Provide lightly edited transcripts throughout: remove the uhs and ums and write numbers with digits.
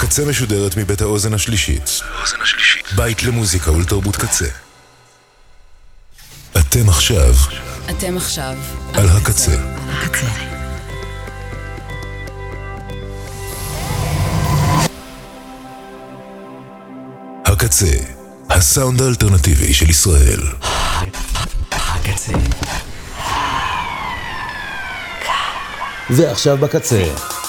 הקצה משודרת מבית האוזן השלישית. בית למוזיקה ולתרבות קצה. אתם עכשיו על הקצה. הקצה, הסאונד האלטרנטיבי של ישראל. הקצה. ועכשיו בקצה.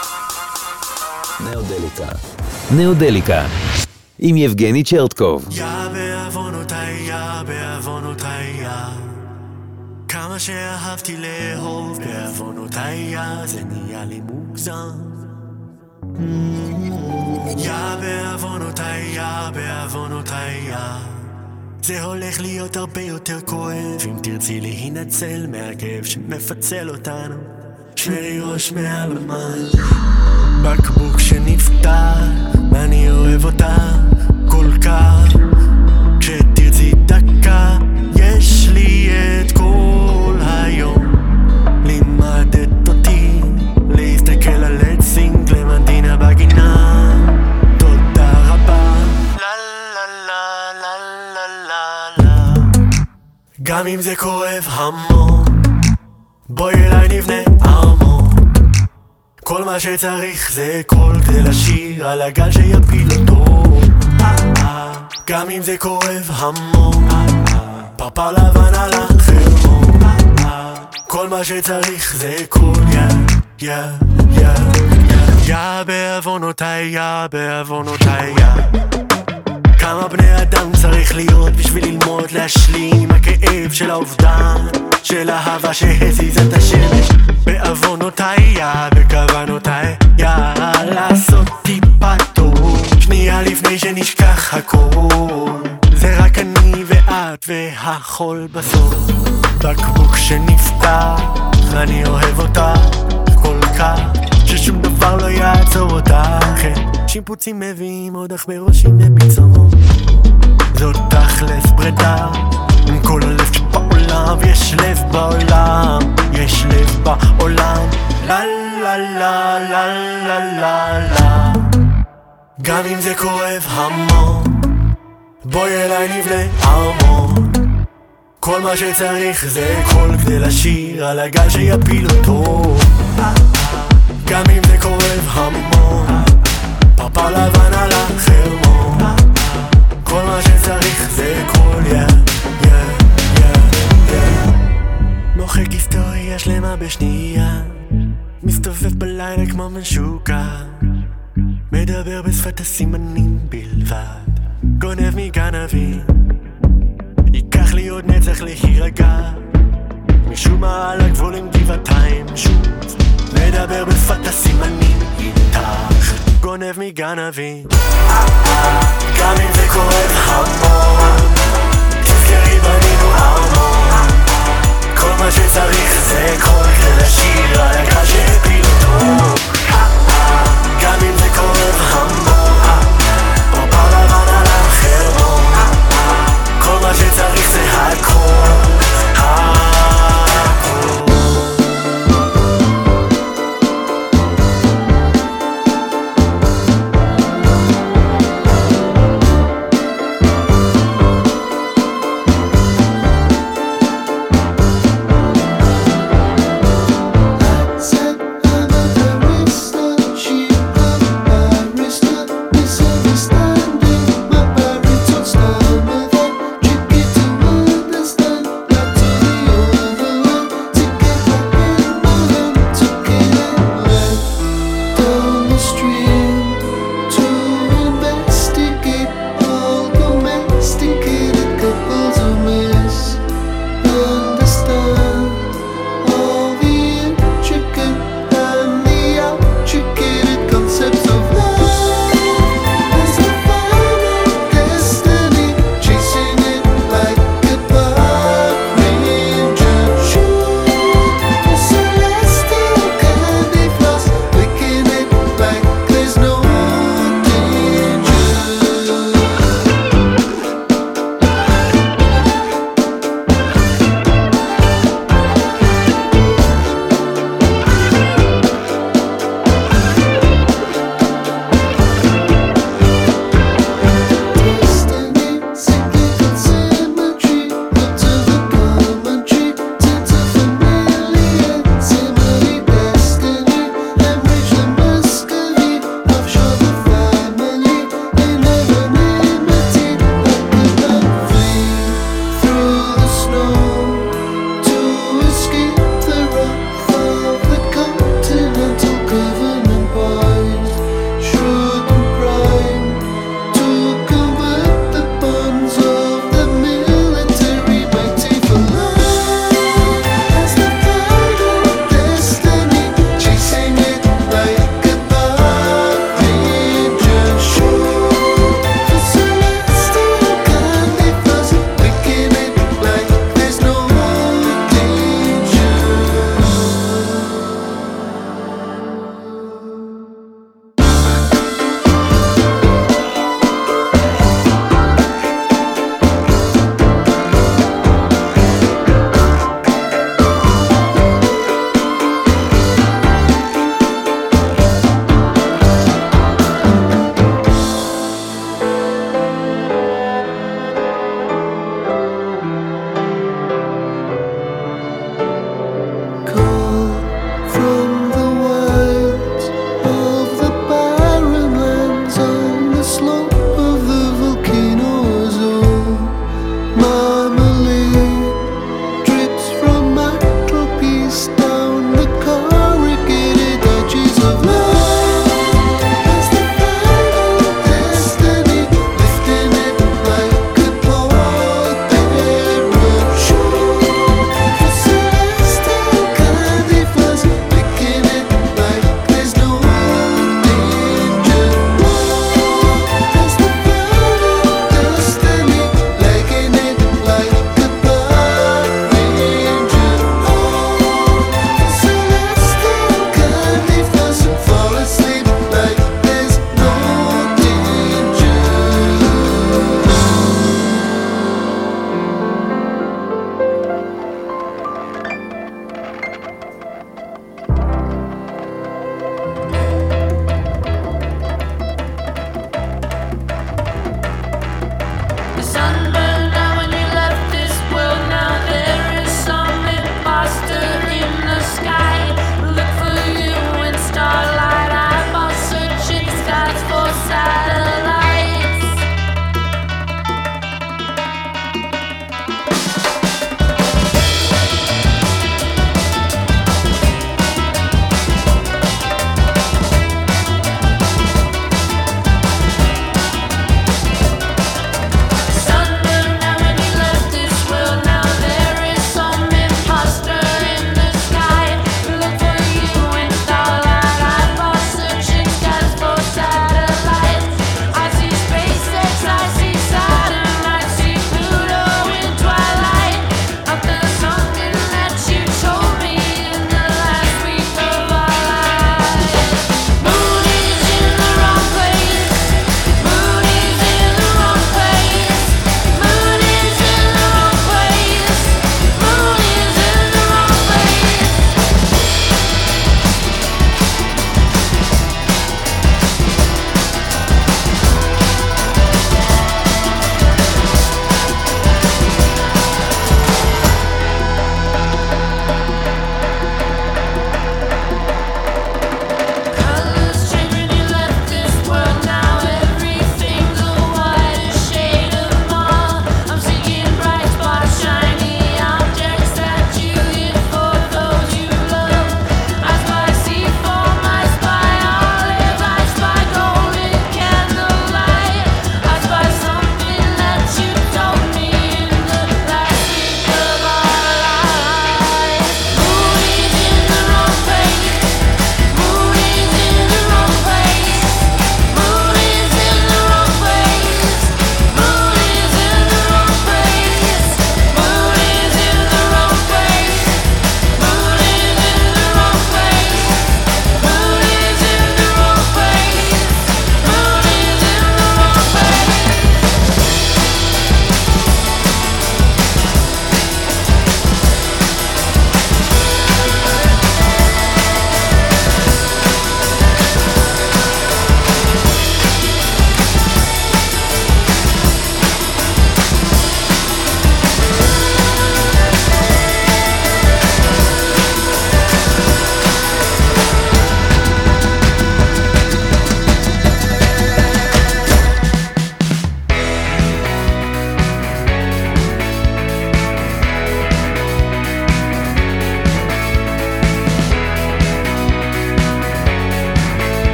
נאודליקה. עם יבגני צ'רטקוב. יא בעוונותיי, כמה שאהבתי לאהוב בעוונותיי, זה נהיה לי מוגזם. יא בעוונותיי, זה הולך להיות הרבה יותר כואב אם תרצי להינצל מהכאב שמפצל אותנו. שרי ראש מעל המים, בקבוק שנפתח, ואני אוהב אותך כל כך. כשתרצי דקה, יש לי את כל היום. לימדת אותי להסתכל על עץ סינגלמנטינה בגינה. תודה רבה. לה לה לה לה לה לה. גם אם זה כואב המון, בואי אליי נבנה ארמון. כל מה שצריך זה קול כדי לשיר על הגל שיפיל אותו. גם אם זה כואב המון, פרפר לבן על החרמון. כל מה שצריך זה קול, יא בעוונותיי. כמה בני אדם צריך להיות בשביל ללמוד להשלים עם הכאב של האובדן, של אהבה שהזיזה את השמש. בעוונותיי, בכוונותיי, לעשות טיפה טוב, שנייה לפני שנשכח הכל. זה רק אני ואת והחול בסוף. בקבוק שנפתח, אני אוהב אותך כל כך, ששום דבר לא יעצור אותך. שיפוצים מביאים עוד אך בראשים לביצור. זאת תכלס ברדה עם כל הלב שבעולם, ויש לב בעולם, יש לב בעולם. לה לה לה לה לה לה לה. גם אם זה כואב המון, בואי אליי נבנה ארמון. כל מה שצריך זה קול כדי לשיר על הגל שיפיל אותו. גם אם זה כואב המון, פרפר לבן על החרמון. כל מה שצריך זה קול, מוחק היסטוריה שלמה בשנייה, מסתובב בלילה כמו משוקע, מדבר בשפת הסימנים בלבד, גונב מגנבים. ייקח לי עוד נצח להירגע, משום מה על הגבול עם גבעתיים שוב, מדבר בשפת הסימנים איתך, גונב מגנבים. גם אם זה כואב המון, תזכרי בנינו ארמון. כל מה שצריך זה קול כדי לשיר על הגל שהפיל אותו. גם אם זה כואב המון, פרפר לבן על החרמון. כל מה שצריך זה הכל,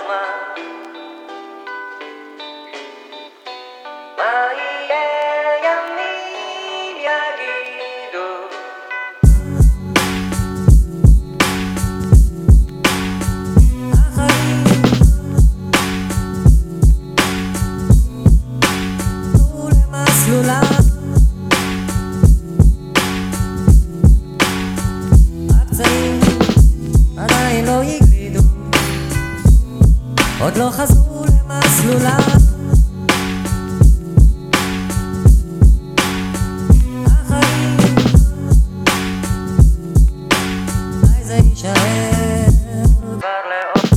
זמן. מה יהיה ימים יגידו. החיים עלו למסלולם, הפצעים עדיין לא יגלידו, עוד לא חזרו למסלולם. החיים אולי זה יישאר כבר לעוד.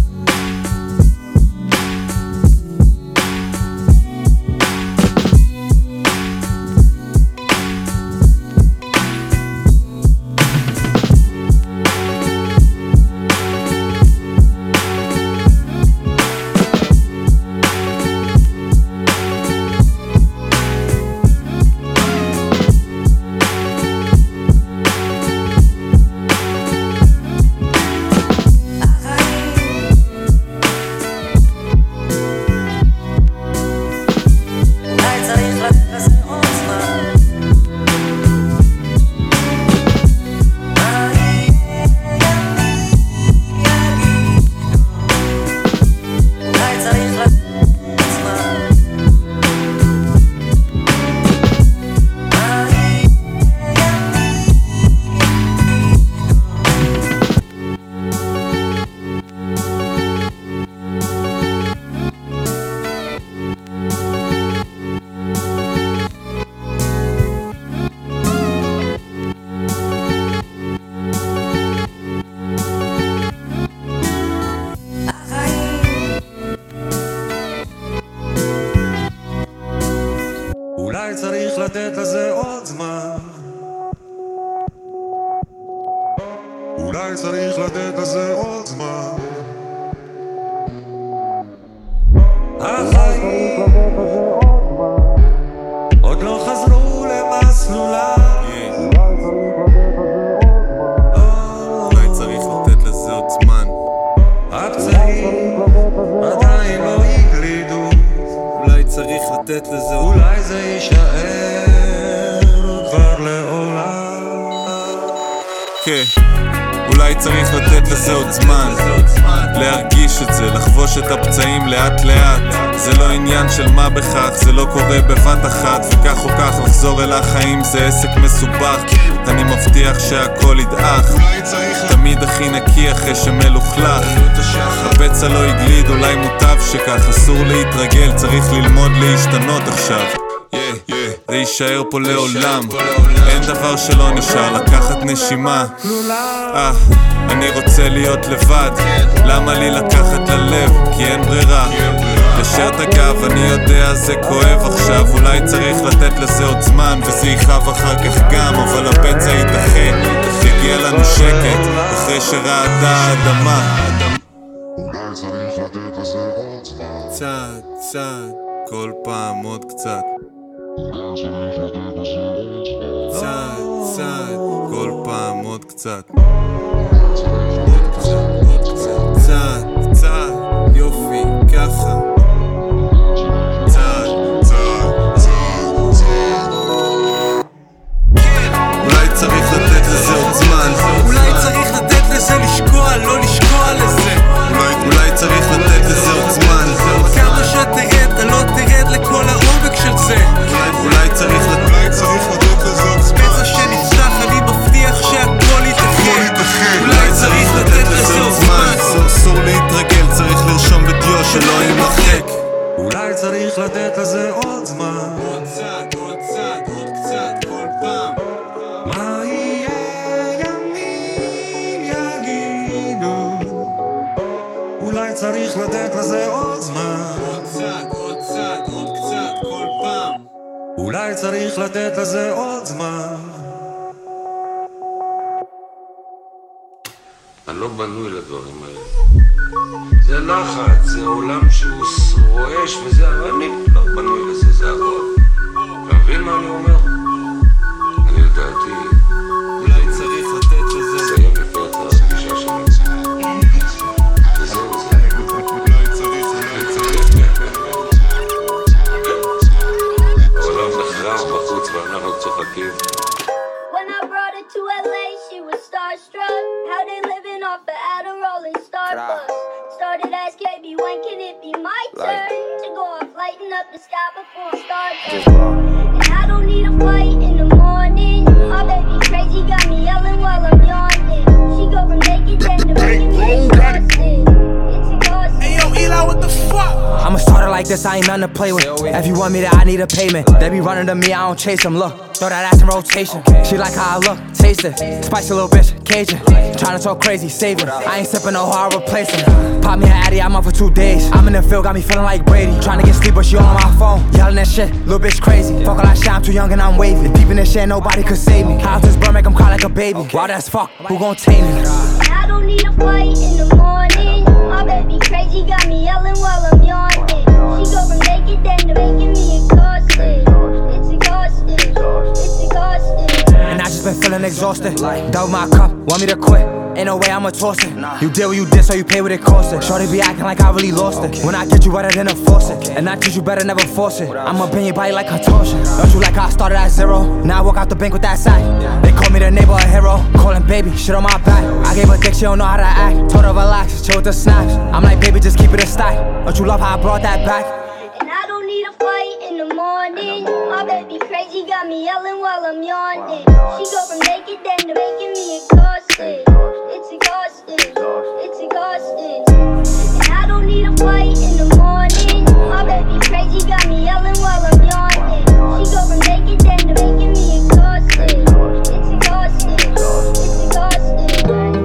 אולי צריך לתת לזה עוד זמן, אולי צריך לתת לזה עוד זמן. החיים עוד לא חזרו למסלולם, אולי צריך לתת לזה עוד זמן. הפצעים עדיין לא יגלידו, אולי צריך לתת לזה עוד... אולי זה יישאר כבר לעולם. כן, אולי צריך לתת לזה עוד זמן, להרגיש את זה, לחבוש את הפצעים לאט לאט. זה לא עניין של מה בכך, זה לא קורה בבת אחת, וכך או כך לחזור אל החיים זה עסק מסובך. אני מבטיח שהכל ידעך, תמיד הכי נקי אחרי שמלוכלך. הפצע לא יגליד, אולי מוטב שכך, אסור להתרגל, צריך ללמוד להשתנות עכשיו. זה יישאר פה לעולם, אין דבר שלא נשאר, לקחת נשימה. אני רוצה להיות לבד, למה לי לקחת ללב? כי אין ברירה, ישר את הגב, אני יודע זה כואב עכשיו. אולי צריך לתת לזה עוד זמן, וזה יכאב אחר כך גם, אבל הפצע יידחה, יגיע לנו שקט אחרי שרעדה האדמה. אולי צריך לתת לזה עוד זמן, קצת, קצת, כל פעם עוד קצת. קצת, קצת, כל פעם עוד קצת. קצת, קצת, יופי, ככה. קצת, קצת, אולי צריך לתת לזה עוד זמן, אולי צריך לתת לזה לשקוע, לא לשקוע לזה. אולי צריך לתת לזה עוד זמן, כמה שתרד, אתה לא תרד לכל העומק של זה. אולי צריך לתת לזה עוד זמן, פצע שנפתח, אני מבטיח שהכל יתכן. אולי צריך לתת לזה עוד זמן, אסור להתרגל, צריך לרשום בדיו שלא יימחק. אולי צריך לתת לזה עוד זמן, עוד קצת, עוד קצת, עוד קצת, כל פעם. מה יהיה ימים יגידו, אולי צריך לתת לזה עוד זמן, עוד קצת, עוד קצת, עוד קצת, כל פעם. אולי צריך לתת לזה עוד זמן. אני לא בנוי לדברים האלה. זה לחץ, זה עולם שהוא רועש וזה, אבל אני לא בנוי לזה, זה הכל. אתה מבין מה אני אומר? אני לדעתי, אולי צריך לתת לזה. לסיים לפי את הפגישה שלנו. וזהו זה. like to go off, lighten up the sky before it starts. And I don't need a fight in the morning. My baby crazy got me yelling while I'm yawning. She go from naked then to making me exhausted. It's exhausting. Hey yo, Eli, what the fuck? I'm a starter like this, I ain't nothing to play with. If you want me to, I need a payment. They be running to me, I don't chase them. Look, throw that ass in rotation. She like how I look, taste it. Spicy little bitch, Cajun. Tryna talk crazy, save it. I ain't sipping no hard, replace him. Pop me an Addy, I'm up for 2 days. I'm in the field, got me feeling like Brady. Tryna get sleep, but she on my phone. Yelling that shit, little bitch crazy. Fuck all that shit, I'm too young and I'm wavy. Deep in this shit, nobody could save me. How's this bird make him cry like a baby? Wild as fuck, who gon' tame me? I don't need a fight in the morning. My baby crazy got me yelling while I'm yawning. She go from naked then to making me exhausted. It's exhausting. It's exhausting. And I just been feeling exhausted. Double my cup, want me to quit? Ain't no way I'ma toss it. You did what you did, so you pay what it cost it. Shorty be acting like I really lost it. When I get you better than enforce it. And I teach you better, never force it. I'ma bend your body like contortion. Don't you like how I started at 0? Now I walk out the bank with that sack. They call me the neighborhood hero. Callin' baby, shit on my back. I gave her dick, she don't know how to act. Told her relax, chill with the snaps. I'm like, baby, just keep it a stack. Don't you love how I brought that back? And I don't need a fight in the morning. My baby crazy got me yelling while I'm yawning. She go from naked then to making me exhausted. It's exhausting. It's exhausting. And I don't need a fight in the morning. My baby crazy got me yelling while I'm yawning. She go from naked then to making me exhausted. It's exhausting. It's exhausting.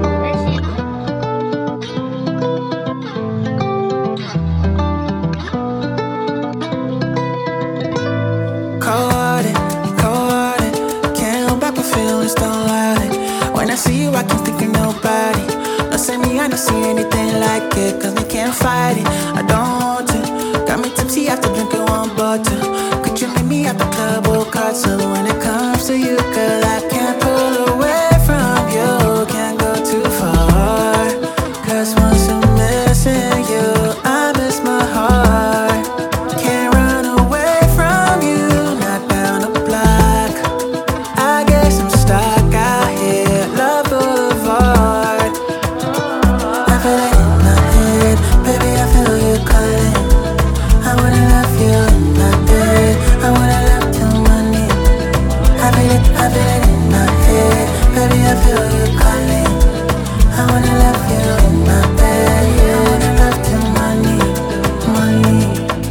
Can't hold back my feelings, don't lie. When I see you, I can't think of nobody. Don't say me, I don't see anything like it. Cause we can't fight it, I don't want to. Got me tipsy after drinking 1 bottle. Could you meet me at the club or card? So when it comes to you, girl, I can't pull away from you. Can't go too far. Cause once I'm missing you, I miss my heart. Can't run away from you, not down the block. I guess I'm stuck out here, Love Boulevard. I feel it in my head, baby, I feel you calling. I wanna love you in my bed, I wanna love till money. I feel it in my head, baby, I feel you calling. I wanna love you in my bed, I wanna love till money, money.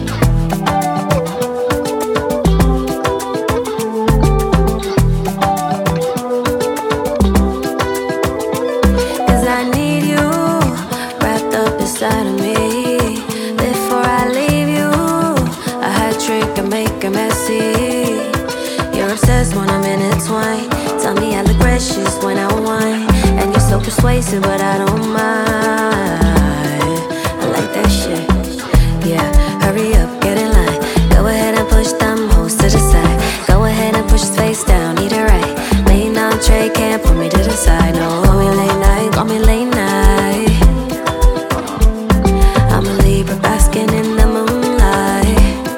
Cause I need you wrapped up inside of me. Before I leave you, a hot trick and make it messy. You're obsessed when I'm intertwined. Tell me I look precious when I whine. And you're so persuasive, but I don't mind. I like that shit. Yeah, hurry up, get in line. Go ahead and push them hoes to the side. Go ahead and push his face down, eat it right. Main entree, can't put me to the side. No, call me late night, call me late night. I'm a Libra basking in the moonlight.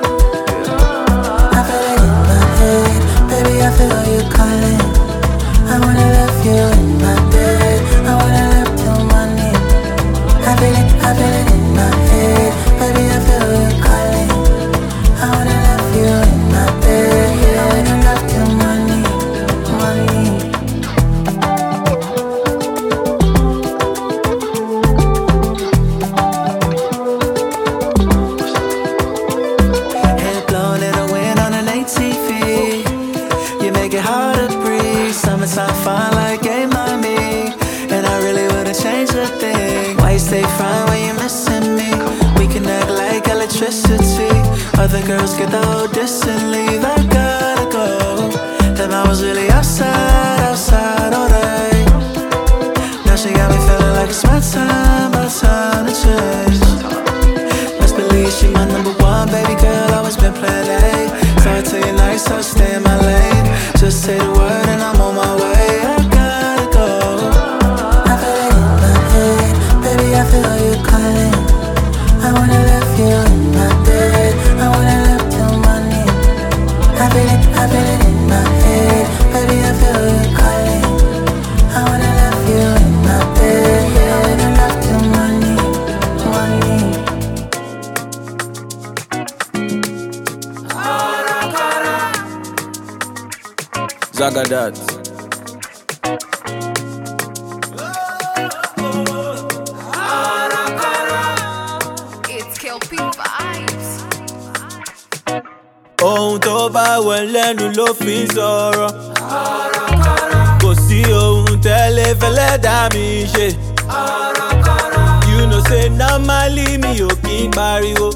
I feel it in my head, baby, I feel you calling. I wanna love you in my bed, I wanna love till money. I feel it in my head, baby, I feel you calling. I wanna love you in my bed, I wanna love till money, money. Head blown in the wind on an ATV. You make it hard to breathe. Summertime fine like gay mommy. And I really wouldn't change a thing. Why you stay fine when you're missing me? We can act like electricity. Other girls get the whole distance and leave. I gotta go. Then I was really outside all day. Now she got me feeling like it's my time to change. Best believe she my number one, baby girl, always been plan A. So I tell you nice, so stay in my lane. Just say the word and I'm on my way. I gotta go. I feel it in my head, baby, I feel you calling. I wanna love you in my bed, I wanna love till money. I feel it in my head, baby, I feel you Zagadat. It's Kelpie vibes. Ohun tó bá wẹ̀ lẹ́nu ló fi ń sọ̀rọ̀. Kò sí ohun tẹ́lẹ̀ fẹ́lẹ́ dá mi ṣe. You know say normally mi ò kí ń pariwo.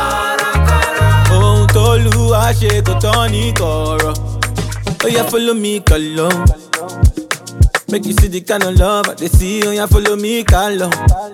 Ohun tó lù wá ṣe kò tán ní kọ̀rọ̀. Oh yeah, follow me, Kalo. Make you see the kind of love I dey see. Oh yeah, follow me, Kalo.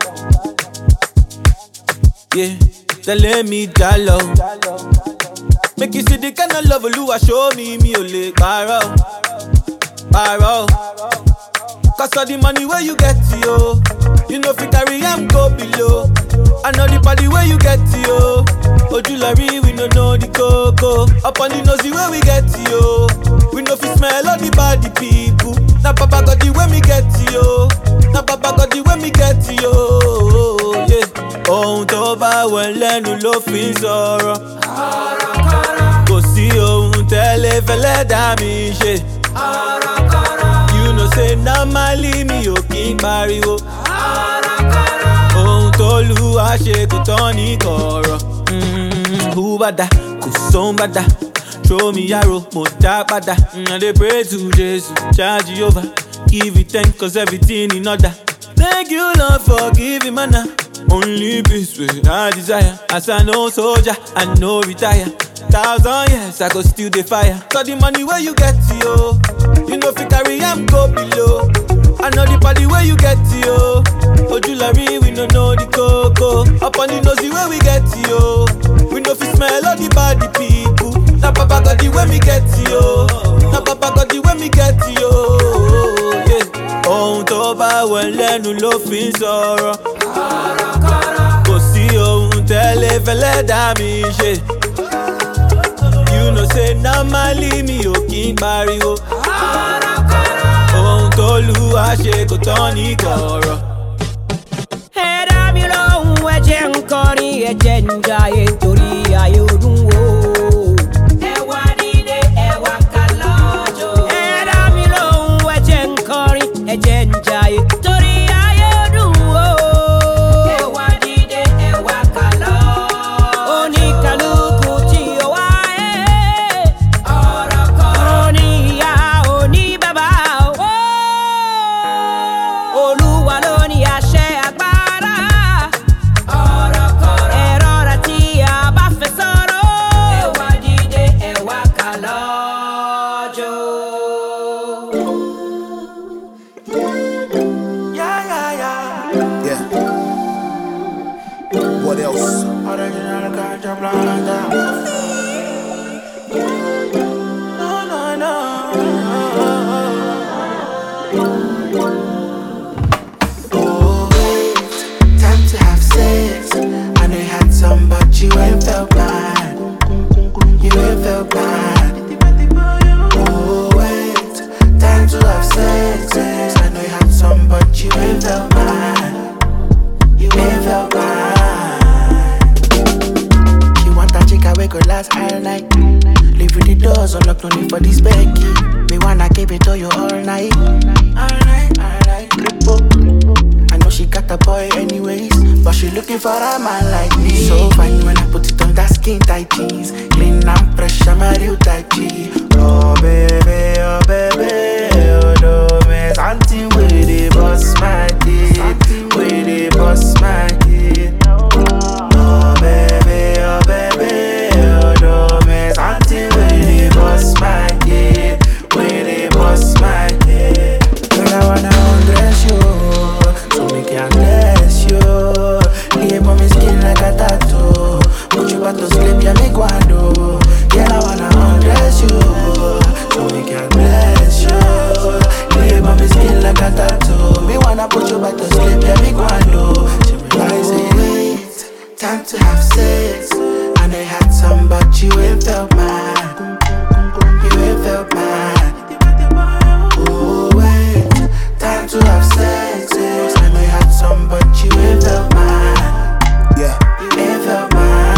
Yeah, tell me jalo. Make you see the kind of love Oluwa show me, mi ò lè parọ́, parọ́. Cause all the money where you get to, yo, you know fi carry am go below. I know the party where you get to, yo. Ojulari, we no know the coco. Up on the nosy where we get to, yo. We know fi smell all the body people. Na papa got the way me get to, yo. Na papa got the way me get to, yo. Yeah. Ohun tó bá wẹ̀ lẹ́nu ló fi ń sọ̀rọ̀. Kò sí ohun tẹ́lẹ̀ fẹ́lẹ́ dá mi ṣe. You know say normally mi ò kí ń pariwo. Ohun tó lù wá ṣe kò tán ní kọ̀rọ̀. Who bada, kò sóhun bada. Throw me arrow, mo dá padà. I dey pray to Jesus, charge Jehovah. Give it thanks cause everything in order. Thank you Lord for giving manna. Only peace with I desire. As I know soldier, I know retire. 1,000 years I go still the fire. So the money where you get to, yo, you know fi carry am go below. I know the party where you get to, yo. Ojulari, we no know the coco. Up on the nosy where we get to, yo. We know fi smell all the body people. Na papa got the way me get to, yo. Na papa got the way me get to, yo. Yeah. Ohun tó bá wẹ̀ lẹ́nu ló fi ń sọ̀rọ̀. Kò sí ohun tẹ́lẹ̀ fẹ́lẹ́ dá mi ṣe. You know say normally mi ò kí ń pariwo. Ohun tó lù wá ṣe kò tán ní kọ̀rọ̀. Ẹ̀dá mi lóhùn ẹ̀jẹ̀ ń kọrin ẹ̀jẹ̀ ń jayé torí ayé ọdún wo. Ẹ̀wà nílé ẹ̀wà ká lọ́jọ́. Ẹ̀dá mi lóhùn ẹ̀jẹ̀ ń kọrin ẹ̀jẹ̀ ń jayé torí ayé ọdún wo. Ẹ̀wà nílé ẹ̀wà ká lọ́jọ́. Oníkàlùkù tí ó wá ọ̀rọ̀ kan. Oní ìyá oní bàbá o. Olúwa ló ní àṣẹ agbára. Ọ̀rọ̀ kan. Ẹ̀rọ rẹ̀ tí a bá fẹ́ sọ̀rọ̀. Ẹ̀wà dìde ẹ̀wà ká lọ́jọ́. Yeah. What else? Time to have sex. I know you had some, but you ain't felt bad. You ain't felt bad. Oh wait, time to have sex. I know you had some, but you ain't felt bad. You ain't felt bad. She want that chick we could last all night. Leave with the doors unlocked only for this Becky. Me wanna keep it to you all night. All night, all night. I know she got a boy anyways, but she looking for a man like me. So fine when I put it on that skin tight jeans. Clean and fresh, I'm a real tight G. Oh baby, oh baby, oh no me something with the boss my dick, with the boss my dick. Oh baby, oh baby, oh no me something with the boss my dick, with the boss my dick. Girl, I wanna undress you, so me can bless you. Leave on me skin like a tattoo. Put you back to sleep, yeah me guando. Girl, I wanna undress you, so me can bless you. Leave on me skin like a tattoo. Me wanna put you back to sleep, yeah me guando. She realize it, wait, time to have sex. I know you had some, but you ain't felt bad. You ain't felt bad. Oh wait, time to have sex. I know you had some, but you ain't felt bad. Yeah. You ain't felt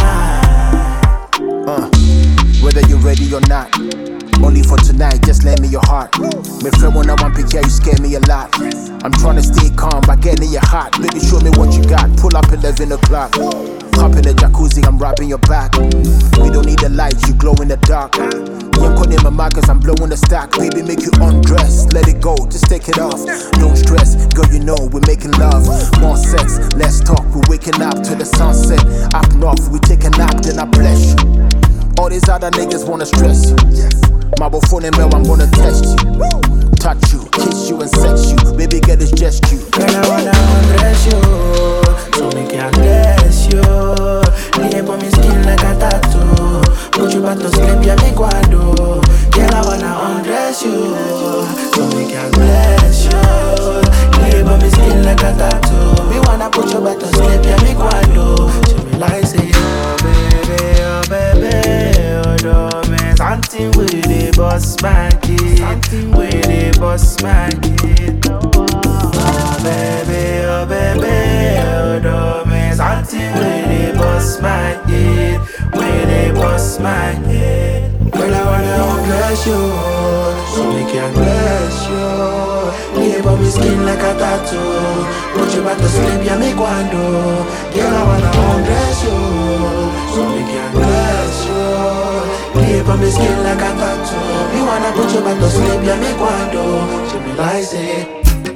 bad. Whether you're ready or not, only for tonight, just let me your heart. Me friend when I want pick you scare me a lot. I'm trying to stay calm by getting in your heart. Baby, show me what you got. Pull up 11 o'clock. Hop in the jacuzzi, I'm rubbing your back. We don't need the lights, you glow in the dark. You're calling my mic cause I'm blowing the stack. Baby, make you undress, let it go, just take it off. Don't stress, girl, you know we're making love. More sex, less talk, we're waking up to the sunset. Up north, we take a nap, then I bless you. All these other niggas wanna stress you. My phone and mail, I'm gonna test you. Touch you, kiss you and sex you. Baby, get this just you. Girl, I wanna undress you, so make it undress you. Lay up on my skin like a tattoo. Put you back to sleep, yeah, me guado. Girl, I wanna undress you, so make it undress you. Lay up on my skin like a tattoo. Me wanna put you back to sleep, yeah, me guado. She me like say, oh baby, oh do me something with the boss man kid, with the boss man kid. Oh baby, oh do me something with the boss man kid, with the boss man kid. Girl, I wanna undress you, so make it undress you. Lay up on my skin like a tattoo. Put you back to sleep, yeah, me guando. Girl, I wanna undress you, so make it undress you. Lay up on my skin like a tattoo. Me wanna put you back to sleep, yeah, me guando. She be like say.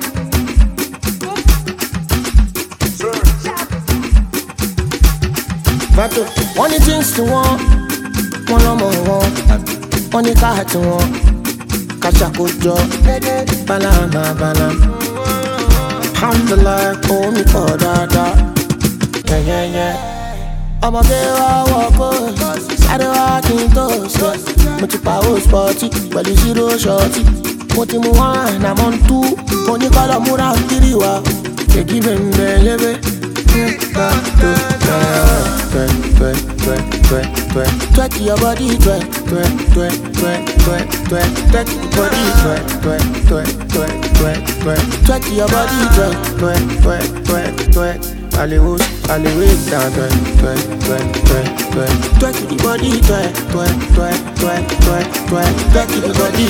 Vato, one of the things to want, one of more want, one of the car to want, Kachakujo, Balama. Alhamdulillah, oh me for dada, yeah. I'm a girl, walk, side walking toast, Muchipa sporty, but you see those shorty, Motimuan, I'm on two, when you call a Mura Kiriwa, they give him the twerk your body, twerk your body, twerk. Hollywood down, twerk the body, twerk the body,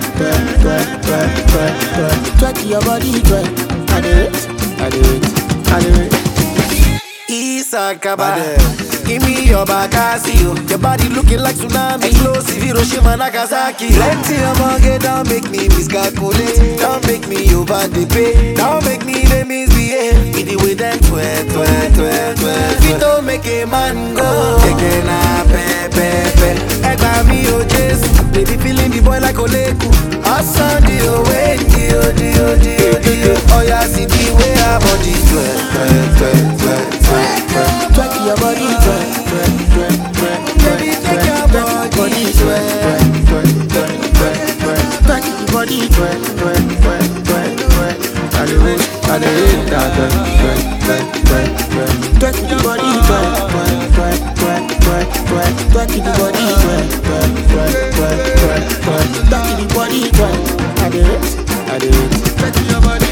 twerk your body, twerk. I do it. Isakaba, give me your Bakasio. Your body looking like tsunami, explosive Hiroshima, Nagasaki. Plenty of money, don't make me miscalculate. Don't make me over the pay. Don't make me the misbehave. Be the way them twerk. We don't make a man go. Again, pepe. Egba me o Jesu. Baby feeling the boy like Oleku. Awesome deal, wait, deal. Oh yeah, see the way our body twerk. Twerk your body, twerk. Baby, take your body, twerk. Twerk your body, twerk. I do it, twerk your body, twerk. Twerk your body, twerk. I do it. Twerk your body.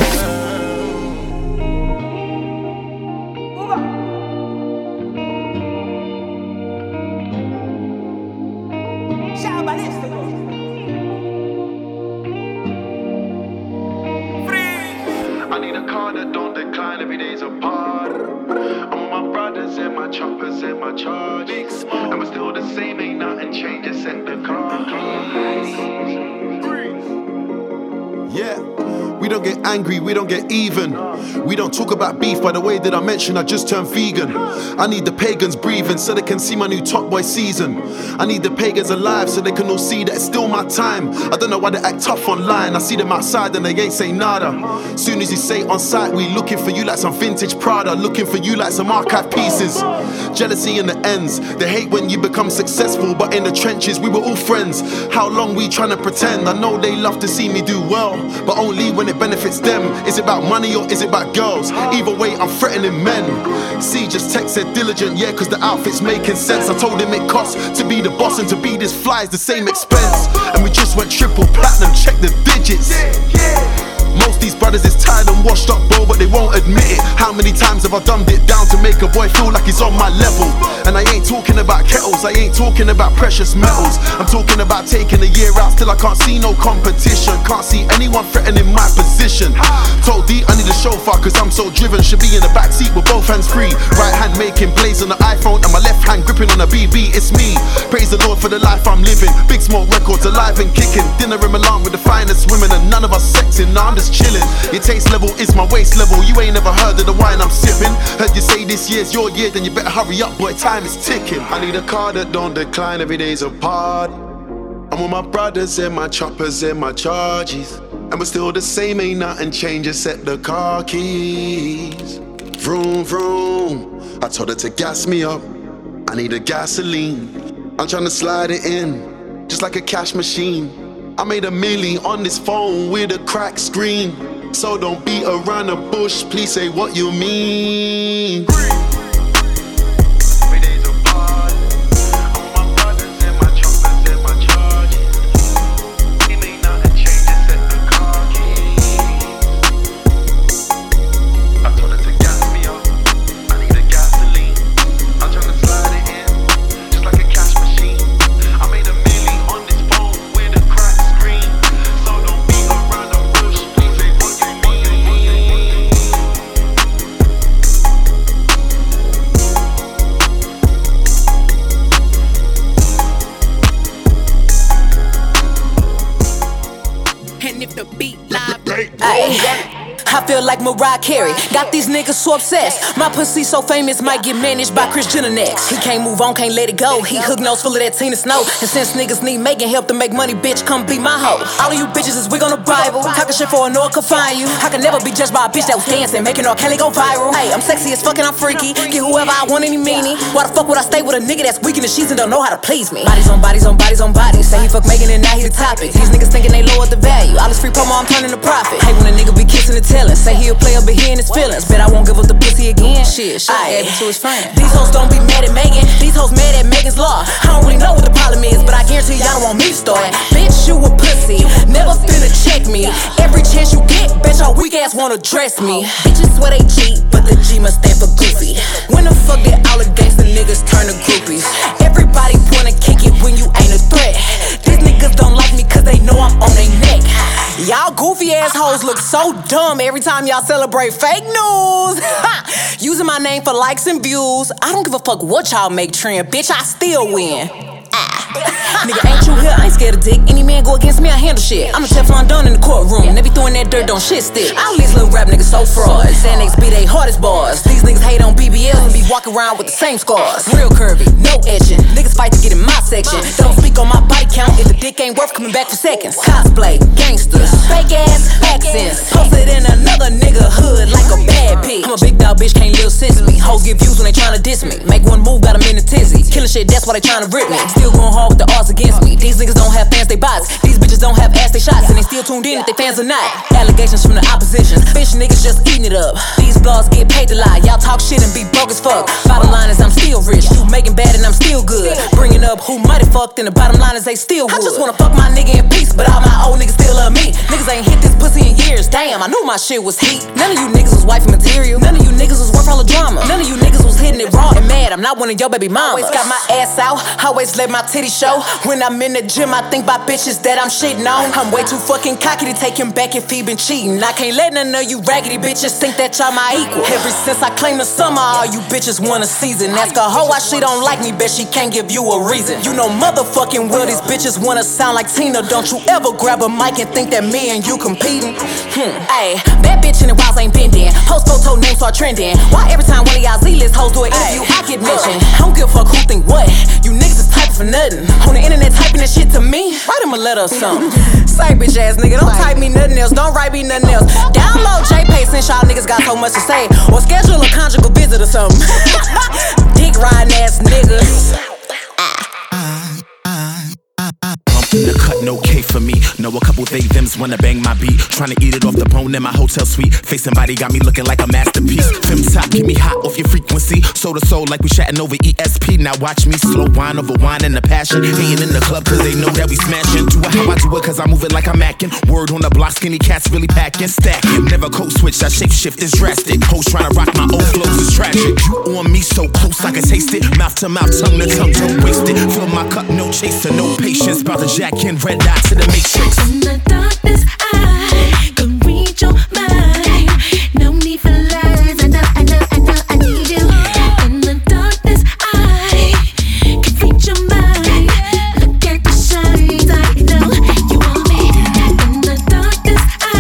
I need a car that don't decline every day's apart. I'm with my brothers and my choppers and my charges, and we're still the same, ain't nothing changed except the car. Yeah, we don't get angry, we don't get even. We don't talk about beef. By the way that I mentioned, I just turned vegan. I need the pagans breathing so they can see my new Top Boy season. I need the pagans alive so they can all see that it's still my time. I don't know why they act tough online. I see them outside and they ain't say nada. Soon as you say on site, we looking for you like some vintage Prada, looking for you like some archive pieces. Jealousy in the ends. They hate when you become successful, but in the trenches we were all friends. How long we trying to pretend? I know they love to see me do well, but only when it benefits them. Is it about money or is it about girls? Either way, I'm threatening men. C just text said diligent, yeah, cause the outfit's making sense. I told him it costs to be the boss and to be this fly is the same expense. And we just went triple platinum, check the digits. Most these brothers is tired and washed up, bro, but they won't admit it. How many times have I dumbed it down to make a boy feel like he's on my level? And I ain't talking about kettles, I ain't talking about precious metals. I'm talking about taking a year out, still I can't see no competition. Can't see anyone threatening my position. Told D I need a chauffeur cause I'm so driven. Should be in the backseat with both hands free. Right hand making plays on the iPhone and my left hand gripping on a BB. It's me, praise the Lord for the life I'm living. Big Smoke Records alive and kicking. Dinner in Milan with the finest women and none of us sexing. Nah, I'm just chilling. Your taste level is my waist level. You ain't never heard of the wine I'm sipping. Heard you say this year's your year, then you better hurry up, boy, time is ticking. I need a car that don't decline, every day's a party. I'm with my brothers and my choppers and my charges, and we're still the same, ain't nothing changed except the car keys. Vroom, vroom, I told her to gas me up, I need a gasoline. I'm tryna slide it in, just like a cash machine. I made $1 million on this phone with a cracked screen. So don't beat around the bush, please say what you mean. I feel like Mariah Carey, got these niggas so obsessed. My pussy so famous, might get managed by Kris Jenner next. He can't move on, can't let it go. He hook nose full of that Tina Snow. And since niggas need making help to make money, bitch, come be my hoe. All of you bitches is wig on the Bible, talking shit for a no one could find you. I can never be judged by a bitch that was dancing, making R. Kelly go viral. Hey, I'm sexy as fuck and I'm freaky, get whoever I want any meanie. Why the fuck would I stay with a nigga that's weak in the sheets and don't know how to please me? Bodies on bodies on bodies on bodies. Say he fuck Megan and now he the topic. These niggas thinking they lowered the value. All this free promo, I'm turning to profit. Hey, when a nigga be kissing and telling, say he a player but he in his feelings. Bet I won't give up the pussy again. Shit, gave it to his friend. These hoes don't be mad at Megan, these hoes mad at Megan's law. I don't really know what the problem is, but I guarantee y'all don't want me to start. Bitch, you a pussy, never finna check me. Every chance you get, bitch, your weak ass wanna dress me. Bitches swear they cheat, but the G must stand for goofy. When the fuck did all the gangsta niggas turn to groupies? Everybody wanna kick it when you ain't a threat. These niggas don't like me cause they know I'm on their neck. Y'all goofy assholes look so dumb every time y'all celebrate fake news. Using my name for likes and views. I don't give a fuck what y'all make trend, bitch, I still win. Nigga, ain't you here? I ain't scared of dick. Any man go against me, I handle shit. I'm a Teflon Don in the courtroom. They be throwing that dirt, don't shit stick. All these little rap niggas so fraud. Xanax be they hardest bars. These niggas hate on BBLs and be walking around with the same scars. Real curvy, no etching. Niggas fight to get in my section. Don't speak on my body count if the dick ain't worth coming back for seconds. Cosplay, gangsters, fake ass accents. Posted in another nigga hood like a bad bitch. I'm a big dog bitch, can't live since me. Hoes get views when they tryna diss me. Make one move, got 'em in a tizzy. Killing shit, that's why they tryna rip me. Still going hard with the odds against me. These niggas don't have fans, they bots. These bitches don't have ass, they shots. And they still tuned in if they fans or not. Allegations from the opposition. Bitch niggas just eating it up. These blogs get paid to lie. Y'all talk shit and be broke as fuck. Bottom line is I'm still rich. You making bad and I'm still good. Bringing up who mighty fucked and the bottom line is they still would. I just wanna fuck my nigga in peace, but all my old niggas still love me. Niggas ain't hit this pussy in years. Damn, I knew my shit was heat. None of you niggas was wifey material. None of you niggas was worth all the drama. None of you niggas was hitting it raw and mad. I'm not one of your baby mamas. Always got my ass out. Always let my titty show. When I'm in the gym, I think about bitches that I'm shitting on. I'm way too fucking cocky to take him back if he been cheating. I can't let none of you raggedy bitches think that y'all my equal. Ever since I claimed the summer, all you bitches want a season. Ask a hoe why she don't like me, bet she can't give you a reason. You know motherfucking well these bitches wanna sound like Tina. Don't you ever grab a mic and think that me and you competing. Ayy, bad bitch in the walls ain't bending. Post photo names start trending. Why every time one of y'all Z-list hoes do an interview, I get mentioned? I don't give a fuck who think what. You niggas is typing for nothing. On the internet typing that shit to me. Write him a letter or something. Say bitch ass nigga, don't type me nothing else. Don't write me nothing else. Download JPay since y'all niggas got so much to say. Or schedule a conjugal visit or something. Dick riding ass niggas. In the cut, no K for me. Know a couple they thems wanna bang my beat. Tryna eat it off the bone in my hotel suite. Facing body got me looking like a masterpiece. Fem top, get me hot off your frequency. Soul to soul like we chatting over ESP. Now watch me slow wine over wine and the passion. Hating in the club cause they know that we smashing. Do it how I do it cause I move it like I'm macking. Word on the block, skinny cats really packing. Stacking, never code switch, I shape shift is drastic. Hoes tryna rock my old flows is tragic. You on me so close I can taste it. Mouth to mouth, tongue to tongue, don't waste it. Fill my cup, no chaser, no patience. About to jack in, red dot to the matrix. In the darkness I can read your mind. No need for lies, I know I need you. In the darkness I can read your mind. Look at the signs, I know you want me. In the darkness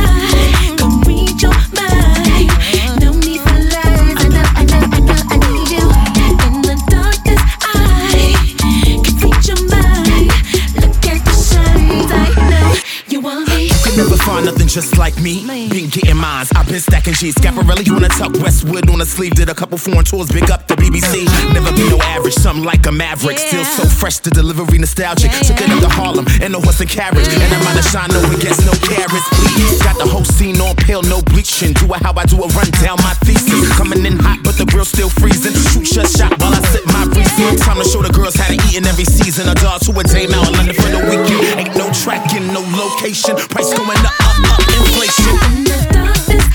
I can read your mind. No need for lies, I know I need you. In the darkness I can read your mind. Look at the signs, I know you want me. You can never find nothing just like me. Been getting mines, I've been stacking G's. Scaparelli on the tuck, Westwood on the sleeve. Did a couple foreign tours, big up the BBC. Never be no average, something like a maverick. Still so fresh, the delivery nostalgic. Took it up to Harlem, and no horse and carriage. And I'm out of shine, no one gets no carrots, please. Got the whole scene on pale, no bleaching. Do it how I do it, run down my thesis. Coming in hot, but the grill's still freezing. Shoot your shot while I sip my reason. Time to show the girls how to eat in every season. A dog to a dame out in London for the weekend. Ain't no tracking, no location. Price going up, inflation. In the darkness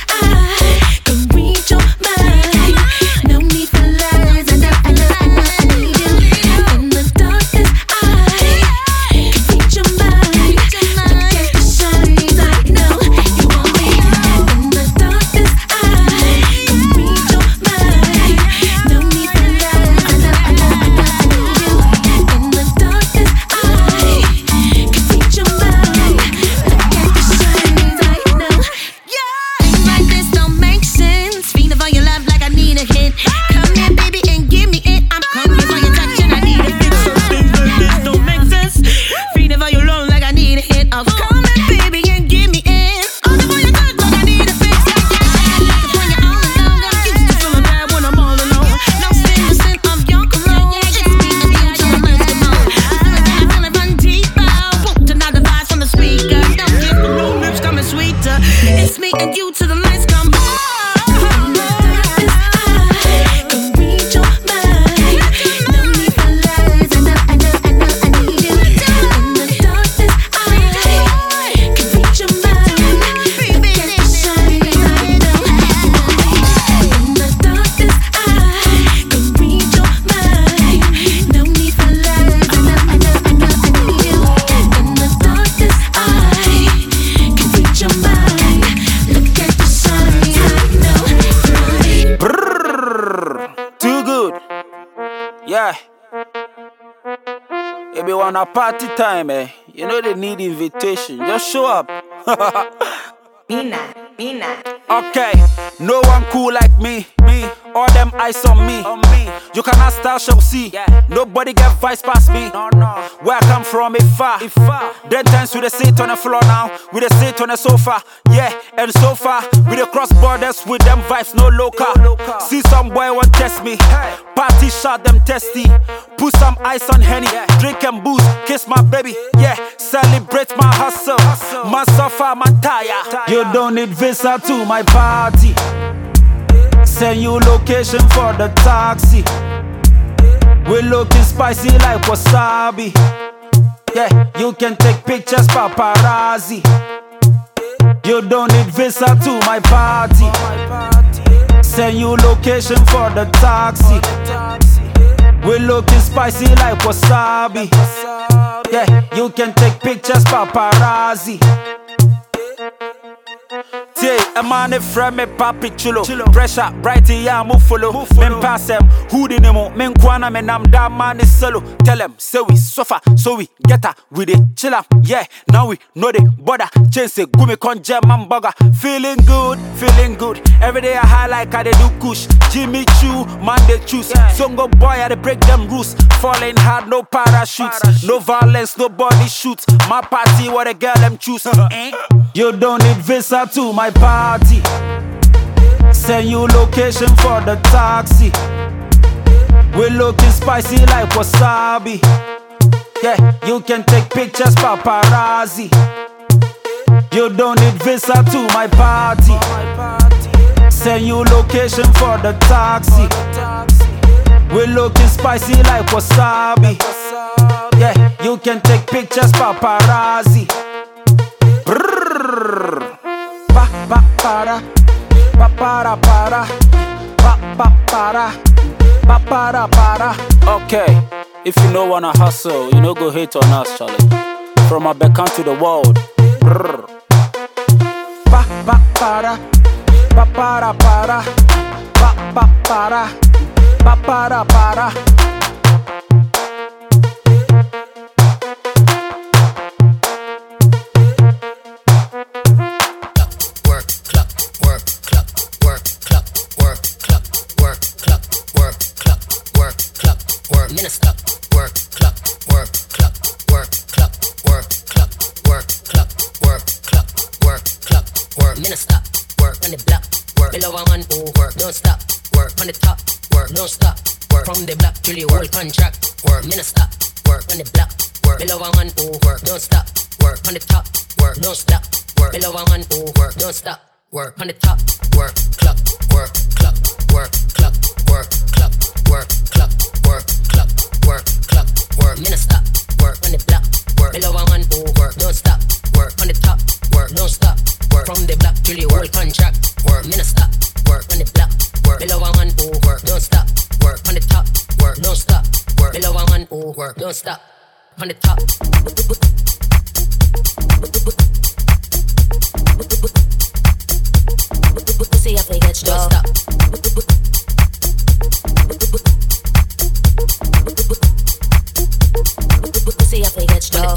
I can read your mind. No need for lies, I know I need you. In the darkness I can read your mind. Look at the signs, I know you want me. In the darkness I can read your mind. No need for lies, I know I need you. In the darkness I can read your mind. Look at the signs, I know. Things like this don't make sense. Feeling for your love like I need a hit. Come here, baby, and give me it. I'm hungry for your touch and I need a fix. Things like this don't make sense. Feeling for your love like I need a hit. Oh, come here, baby, and give me it. Hungry for your touch like I need a fix. Looking for you all alone. I'm used to feeling bad when I'm all alone. No sin, the scent of your cologne. It's me and you till the lights come on. Feeling fun deeper. Won't deny the vibes from the speaker. Don't kiss the new lips coming sweeter. It's me and you till the lights come on. In the darkness I can read your mind. No need for lies, I know I need you. In the darkness I can read your mind. Look at the signs, I know you want me. In the darkness I can read your mind. No need for lies, I know I need you. In the darkness I can read your mind. Look at the signs, I know you want me. Too good. Yeah. If you want a party time, you know they need invitation. Just show up. Mina. Okay, no one cool like me. All them eyes on me. You cannot style, shall see. Nobody get vice past me. Where I come from, if far. Then times we dey sit on the floor now. We dey sit on the sofa. Yeah, and so far we dey cross borders with them vibes, no local. See some boy want test me. Party shot them testy. Put some ice on Henny. Drink and booze, kiss my baby. Yeah, celebrate my hustle. Man suffer, man tire. You don't need visa to my party. Send you location for the taxi. We looking spicy like wasabi. Yeah, you can take pictures, paparazzi. You don't need visa to my party. Send you location for the taxi. We looking spicy like wasabi. Yeah, you can take pictures, paparazzi. A man a friend me papi chulo. Pressure bright yeah move follow. Men pass them who the nemo. Men kwana men am that man is solo. Tell them say we suffer so we get her with it chill up. Yeah now we know the border. Chase a gumi conje man burger. Feeling good. Every day I high like I dey do kush. Jimmy Choo man they choose. Songo boy I dey break them rules. Falling hard no parachutes. No violence no body shoots. My party what a girl them choose. You don't need visa to my party. Send you location for the taxi. We looking spicy like wasabi. Yeah, you can take pictures, paparazzi. You don't need visa to my party. Send you location for the taxi. We looking spicy like wasabi. Yeah, you can take pictures, paparazzi. Brrr. Pa pa para, pa para para, pa pa para, pa para para. Okay, if you no wanna hustle, you no go hate on us, Charlie. From Abeka to the world. Brrr. Pa pa para, pa para para, pa pa para, pa para para. Minister, work, clock, work, clock, work, clock, work, clock, work, clock, work, clock, work, clock, work. Minister, work on the block, work below a man who work, don't stop, work on the top, work, don't stop, work from the block till the whole contract, work. Minister, work on the block, work below a man who work, don't stop, work on the top, work, don't stop, work below a man who work, don't stop, work on the top, work, clock, work, clock, work, clock, work, clock, work, clock, work, clock, work, clock, work. Minister, work on the block, work below a man who work, don't stop, work on the top, work, don't stop, work from the block till the whole contract, work. Minister, work on the block, work below a man who work, don't stop, work on the top, work, don't stop, work below a man who work, don't stop, on the top. See if they get strong. Don't stop. See if they get strong.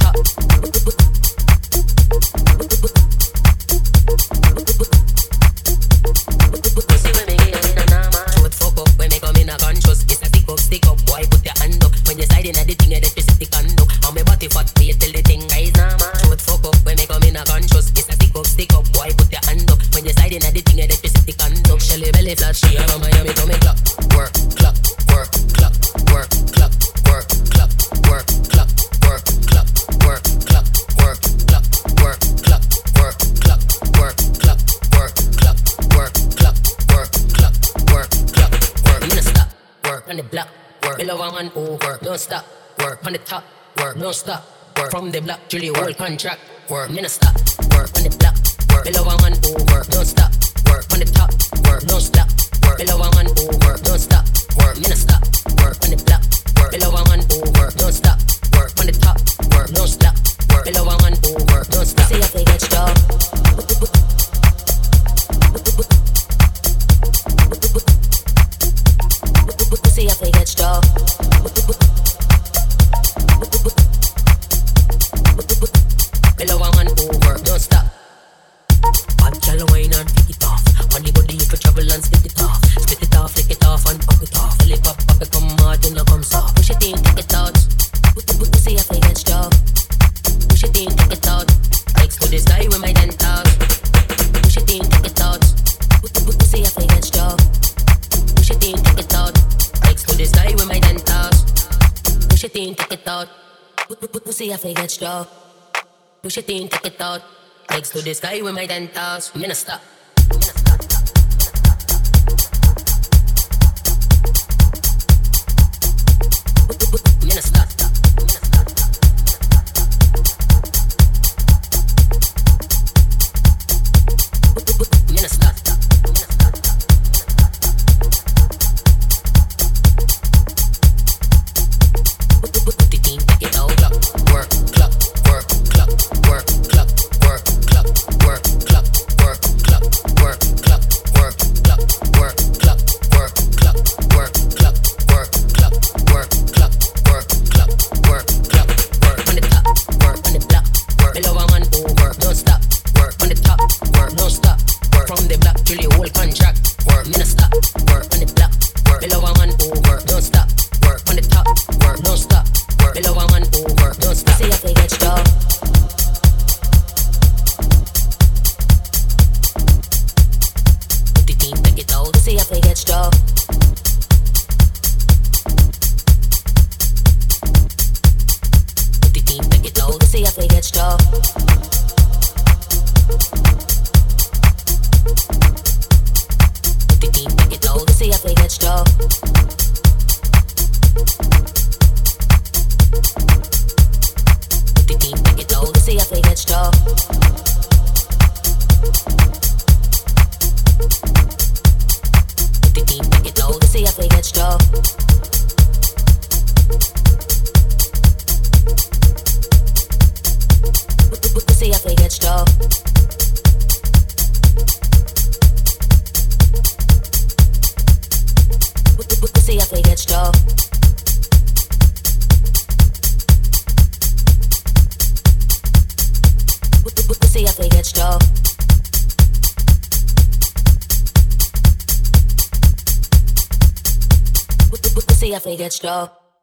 See when me get in a nama. Shoot fuck up when me come in a conscious. It's a stick up, boy put your hand up. When you slide in a the thing, electricity conduct. And me body fat, wait till the thing rise now, man. Shoot fuck up when me come in a conscious. It's a stick up, boy put your hand up. When you slide in a the thing, electricity conduct. Shelly belly flat, she from Miami to me clock. Work, clock, work, clock, work, clock, work, clock, work, clock, work, clock, work, clock, work, clock, work, clock, work, clock, work, clock, work, clock, work, clock, work, clock, work, clock, work. Minister, work on the block, work below a man who work, don't stop, work on the top, work, don't stop, work from the block till the whole contract, work. Minister, work on the block, work below a man who work, don't stop, work on the top, work, don't stop, work below a man who work, don't stop, work. Minister, work on the block, work below a man who work, don't stop, work on the top, work, don't stop, work below a man who work, don't stop. See if they get strong. See if they get strong. Below a man who work, don't stop. Bad gal wine and pick it off. On the body you can travel and spit it off. Spit it off, lick it off and pop it off. Fill it up, pop it, come hard, then it comes off. Push it in, take it out. See if they get strong. Push it in, take it out. Legs to the sky with my dentals. Push it in, take it out. See if they get strong. Push it in, take it out. Legs to the sky with my dentals. Push it in, take it out. See if they get strong. Push it in, take it out. Legs to the sky with my dentals. Minister. Minister. Minister. Put it in, take it out. Work, clock, work, clock, work, clock, work, clock, work, clock, work, clock, work, clock, have to get struck.